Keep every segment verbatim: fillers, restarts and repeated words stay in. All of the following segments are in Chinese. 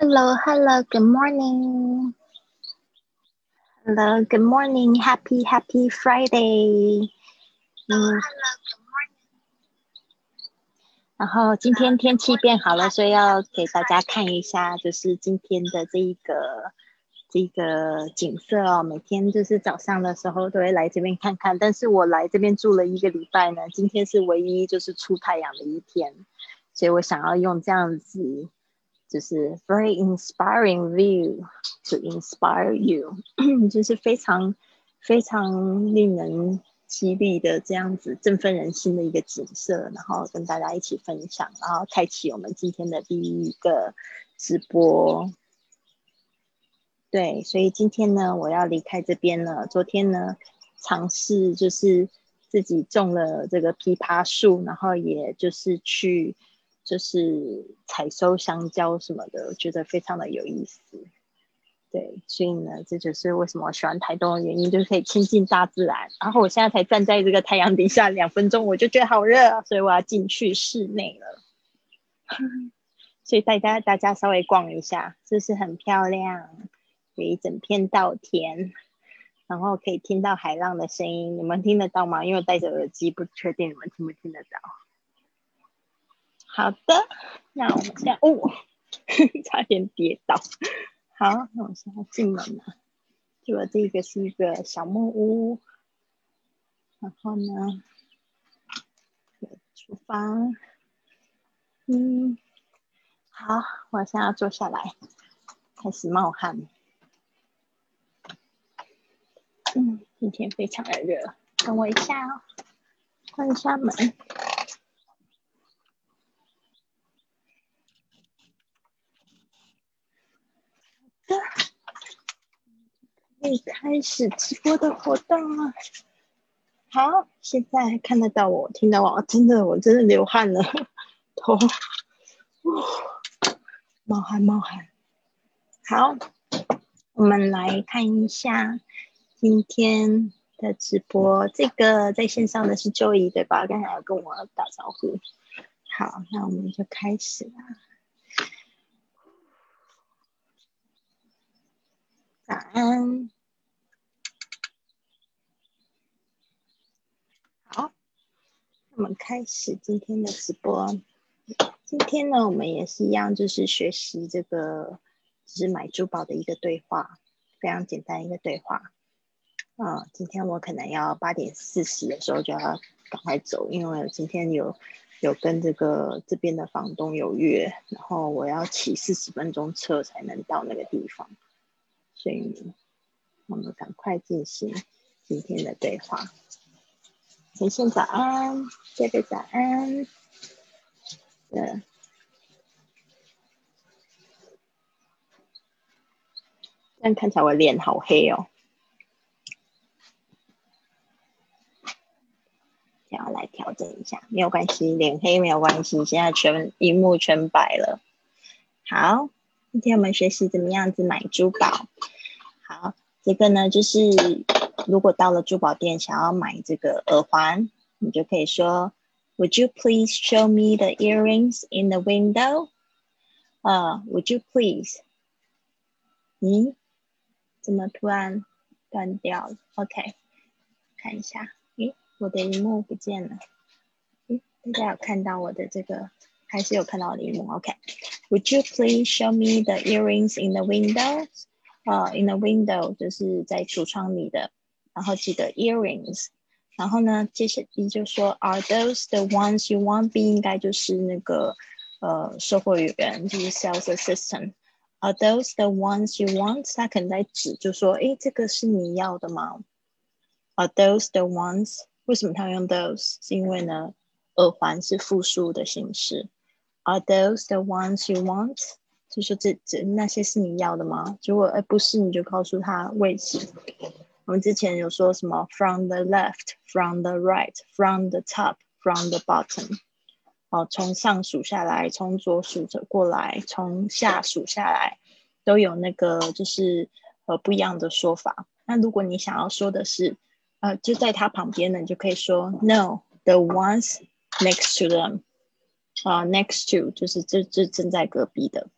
Hello, hello, good morning. Hello, good morning. Happy, happy Friday. 嗯，然后今天天气变好了，所以要给大家看一下，就是今天的这一个这个景色哦。每天就是早上的时候都会来这边看看，但是我来这边住了一个礼拜呢，今天是唯一就是出太阳的一天，所以我想要用这样子。就是 very inspiring view to inspire you 就是非常非常令人激励的这样子振奋人心的一个景色，然后跟大家一起分享，然后开启我们今天的第一个直播。对，所以今天呢我要离开这边了。昨天呢尝试就是自己种了这个枇杷树，然后也就是去就是采收香蕉什么的，我觉得非常的有意思。对，所以呢这就是为什么我喜欢台东的原因，就是可以亲近大自然。然后我现在才站在这个太阳底下两分钟，我就觉得好热，所以我要进去室内了。所以大家大家稍微逛一下，这是很漂亮，有一整片稻田，然后可以听到海浪的声音，你们听得到吗？因为我戴着耳机，不确定你们听不听得到。好的，那我们现在哦，差点跌倒。好，那我现在进门了。结果这个是一个小木屋，然后呢，有厨房。嗯，好，我现在要坐下来，开始冒汗。嗯，今天非常的热，等我一下哦，关一下门。可以开始直播的活动了。好，现在看得到我，听到我，真的，我真的流汗了，头，冒汗冒汗。好，我们来看一下今天的直播。这个在线上的是 Joey 对吧？刚才有跟我打招呼。好，那我们就开始啦。早安。好，我们开始今天的直播。今天呢，我们也是一样，就是学习这个就是买珠宝的一个对话，非常简单一个对话。嗯，今天我可能要八点四十的时候就要赶快走，因为我今天有有跟这个这边的房东有约，然后我要骑四十分钟车才能到那个地方，所以我们赶快进行今天的对话。晨晨早安，贝贝早安。对，但看起来我脸好黑哦，要来调整一下，没有关系，脸黑没有关系，现在全荧幕全白了。好，今天我们学习怎么样子买珠宝。好，这个呢就是如果到了珠宝店想要买这个耳环，你就可以说 Would you please show me the earrings in the window? 呃、uh, Would you please? 嗯，怎么突然断掉了 ？OK， 看一下，诶，我的荧幕不见了。诶，大家有看到我的这个，还是有看到我的荧幕 ？OK，Would you please show me the earrings in the window? 呃、uh, ，in the window 就是在橱窗里的，然后记得 earrings。然后呢，接下来就说 Are those the ones you want? B 应该就是那个呃售货员，就是 sales assistant。Are those the ones you want? 他可能在指，就说，诶，这个是你要的吗 ？Are those the ones? 为什么他用 those？ 是因为呢，耳环是复数的形式。Are those the ones you want? 就说这这那些是你要的吗？如果哎不是，你就告诉他位置。我们之前有说什么 from the left, from the right, from the top, from the bottom。哦，从上数下来，从左数着过来，从下数下来，都有那个就是呃不一样的说法。那如果你想要说的是呃就在他旁边的，你就可以说 No, the ones next to them。Uh, next to 就是这这正在隔壁的。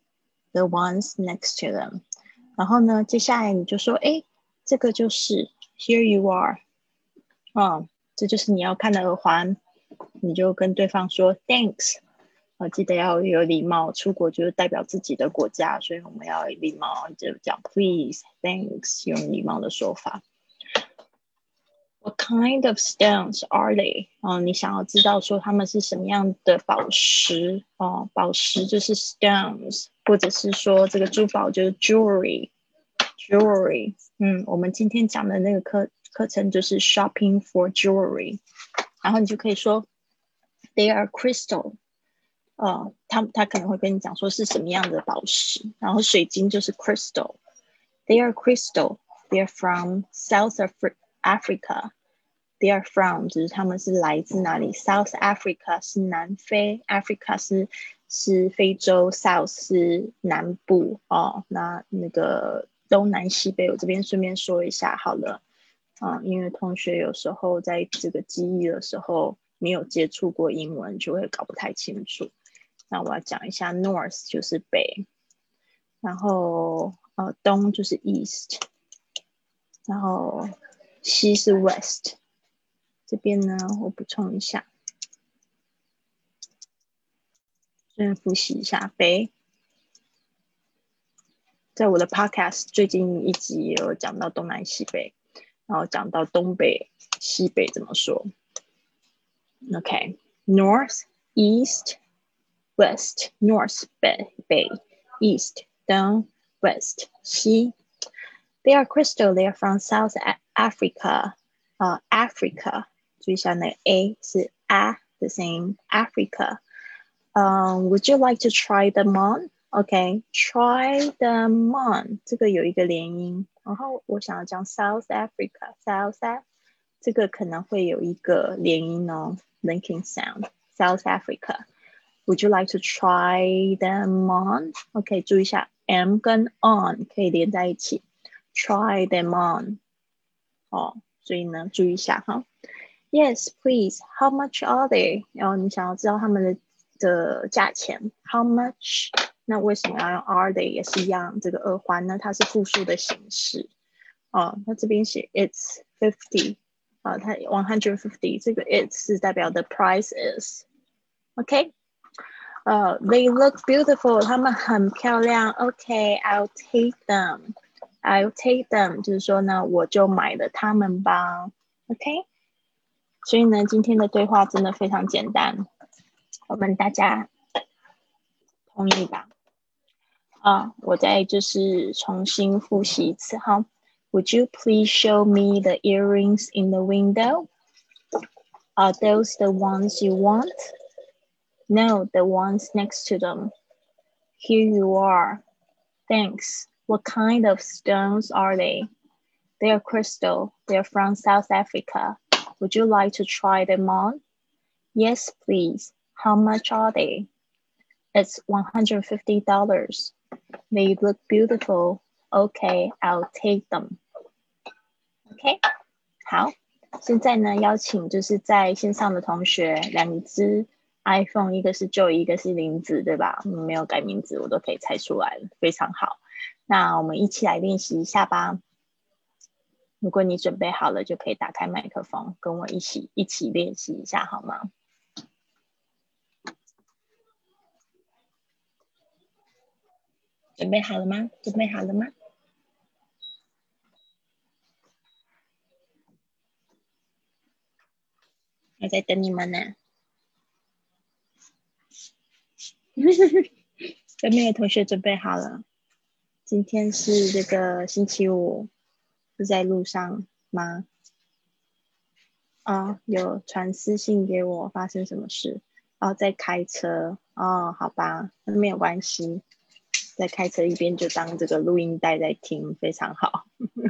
the ones next to them。然后呢，接下来你就说，哎，这个就是 here you are， 哦，这就是你要看的耳环，你就跟对方说 thanks。呃，记得要有礼貌，出国就是代表自己的国家，所以我们要有礼貌，就讲 please thanks， 用礼貌的说法。What kind of stones are they？ 哦，你想要知道说他们是什么样的宝石哦，宝石就是 stones， 或者是说这个珠宝就是 jewelry，jewelry。嗯，我们今天讲的那个课课程就是 shopping for jewelry， 然后你就可以说 they are crystal。呃，他他可能会跟你讲说是什么样的宝石，然后水晶就是 crystal。They are crystal. They are from South Africa. They are from 就是他们是来自哪里 ？South Africa 是南非 ，Africa 是是非洲 ，South 是南部哦。那那个东南西北，我这边顺便说一下好了。啊、呃，因为同学有时候在这个记忆的时候没有接触过英文，就会搞不太清楚。那我要讲一下 north 就是北，然后呃东就是 east， 然后西是 west。这边呢，我补充一下，先复习一下北。在我的 podcast 最近一集也有讲到东南西北，然后讲到东北、西北怎么说。OK， north, east, west, north 北北 ，east 东 ，west 西。They are crystal. They are from South Africa. 啊、uh, ，Africa， 注意一下那个 A 是 A 的声音 ，Africa。Um, would you like to try them on? OK, try them on. 这个有一个连音，然后我想要讲 South Africa, South Africa， 这个可能会有一个连音哦 ，linking sound. South Africa. Would you like to try them on? OK， 注意一下 M 跟 on 可以连在一起 ，try them on。哦，所以呢，注意一下哈。Yes, please. How much are they? 然后你想要知道他们的的价钱 ，How much？ 那为什么要用 are they 也是一样？这个耳环呢，它是复数的形式。哦，那这边写 it's fifty， 啊，它 one hundred fifty， 这个 it's 是代表的 price is。OK， 呃、uh, ，they look beautiful， 他们很漂亮。OK，I'll take them，I'll take them， 就是说呢，我就买了他们吧。OK， 所以呢，今天的对话真的非常简单。我们大家同意吧？啊，我再就是重新复习一次哈。Would you please show me the earrings in the window? Are those the ones you want? No, the ones next to them. Here you are. Thanks. What kind of stones are they? They are crystal. They are from South Africa. Would you like to try them on? Yes, please. How much are they? It's one hundred fifty dollars. They look beautiful. Okay, I'll take them. OK， 好，现在呢，邀请就是在线上的同学，两只 iPhone， 一个是 Joy， 一个是林子，对吧？没有改名字，我都可以猜出来了，非常好。那我们一起来练习一下吧。如果你准备好了，就可以打开麦克风，跟我一起一起练习一下，好吗？准备好了吗？准备好了吗？我在等你们呢。有没有同学准备好了？今天是这个星期五，是在路上吗？哦，有传私信给我，发生什么事？哦，在开车。哦，好吧，那没有关系，在开车一边就当这个录音带在听，非常好。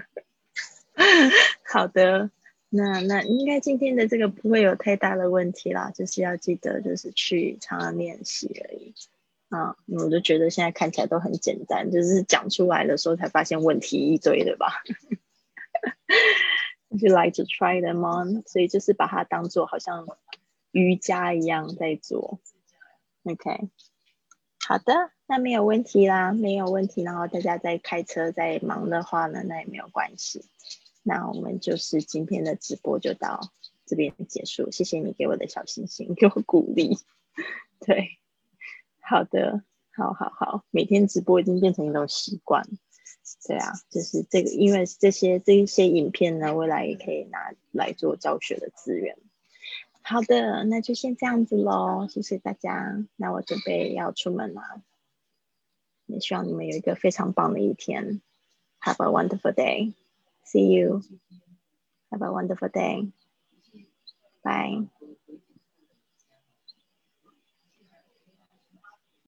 好的，那那应该今天的这个不会有太大的问题啦，就是要记得就是去常常练习而已。啊，我就觉得现在看起来都很简单，就是讲出来的时候才发现问题一堆，对吧？Would you like to try them on？ 所以就是把它当做好像瑜伽一样在做。OK， 好的，那没有问题啦，没有问题。然后大家在开车在忙的话呢，那也没有关系。那我们就是今天的直播就到这边结束，谢谢你给我的小星星，给我鼓励。对，好的，好好好，每天直播已经变成一种习惯。对啊，就是这个，因为这些这一些影片呢，未来也可以拿来做教学的资源。好的，那就先这样子咯，谢谢大家。那我准备要出门了，也希望你们有一个非常棒的一天。Have a wonderful day. See you. Have a wonderful day. Bye.